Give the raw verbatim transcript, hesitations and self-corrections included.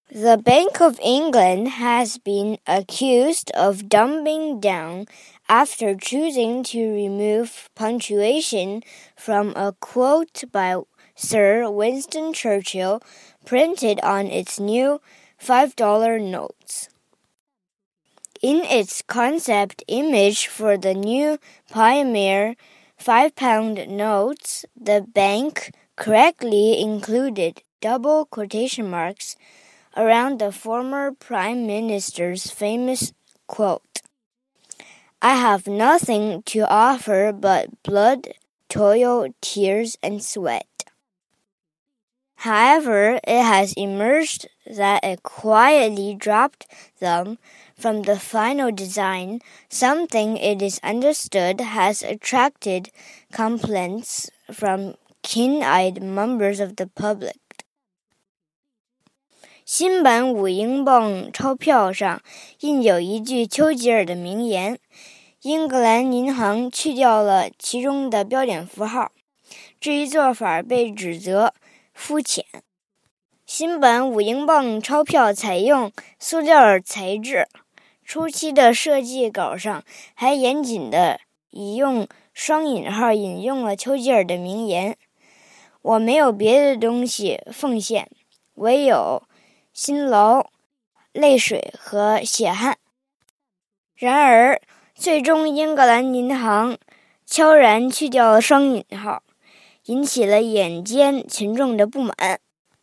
The Bank of England has been accused of dumbing down after choosing to remove punctuation from a quote by Sir Winston Churchill printed on its new five dollar notes. In its concept image for the new Pioneer five pound notes, the bank correctly included double quotation marks around the former Prime Minister's famous quote, "I have nothing to offer but blood, toil, tears, and sweat." However, it has emerged that it quietly dropped them from the final design, something it is understood has attracted complaints from keen-eyed members of the public. 新版五英镑钞票上印有一句丘吉尔的名言，英格兰银行去掉了其中的标点符号，这一做法被指责肤浅。新版五英镑钞票采用塑料材质，初期的设计稿上还严谨地以用双引号引用了丘吉尔的名言，我没有别的东西奉献，唯有辛劳、泪水和血汗。然而，最终英格兰银行悄然去掉了双引号，引起了眼尖群众的不满。